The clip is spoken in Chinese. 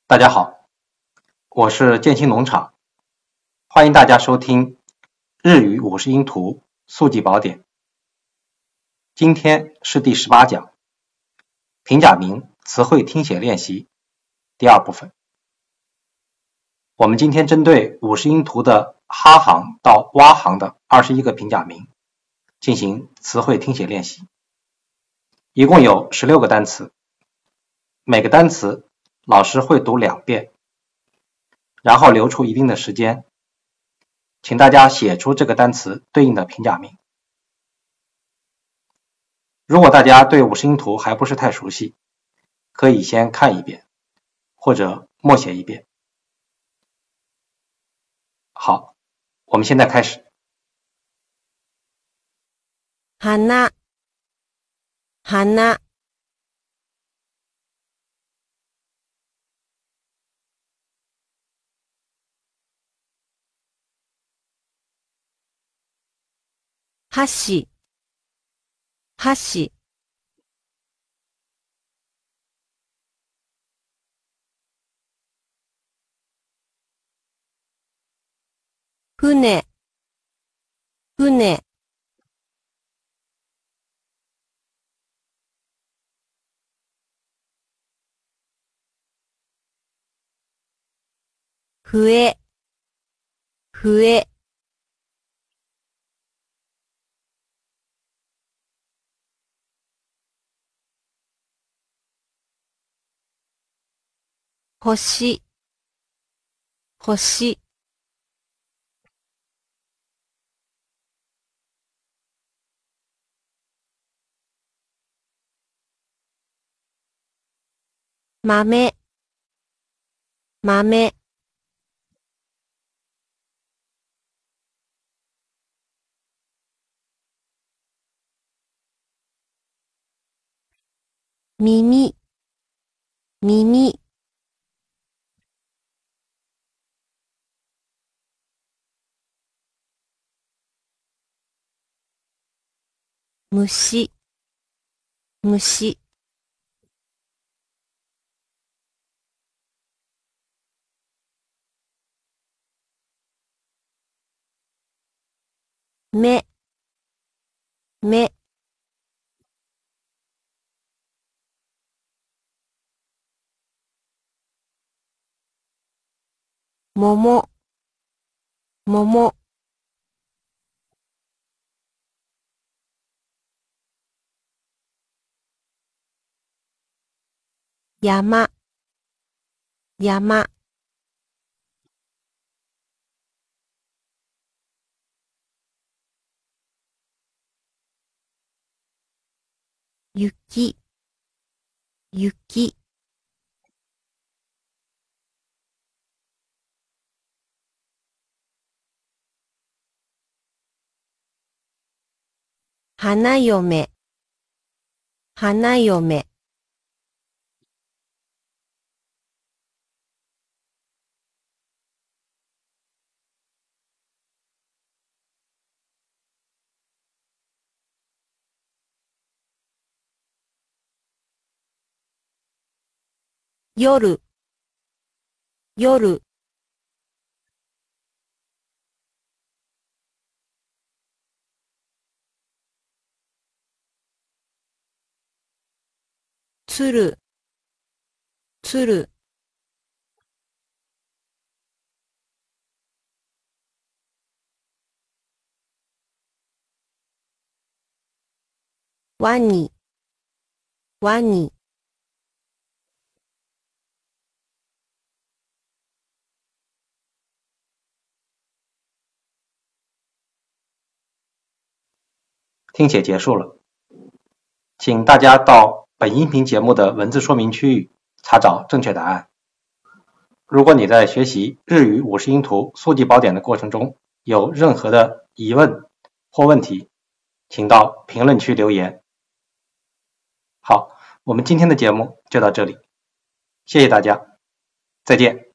大家好，我是建新农场，欢迎大家收听日语50音图速记宝典。今天是第18讲，平假名词汇听写练习第二部分。我们今天针对50音图的哈行到哇行的21个平假名进行词汇听写练习，一共有16个单词，每个单词老师会读2遍，然后留出一定的时间，请大家写出这个单词对应的平假名。如果大家对50音图还不是太熟悉，可以先看一遍，或者默写一遍。好，我们现在开始。 花箸船笛星豆耳虫目桃山雪花嫁夜鶴ワニ听写结束了，请大家到本音频节目的文字说明区域查找正确答案。如果你在学习日语50音图速记宝典的过程中有任何的疑问或问题，请到评论区留言。好，我们今天的节目就到这里，谢谢大家，再见。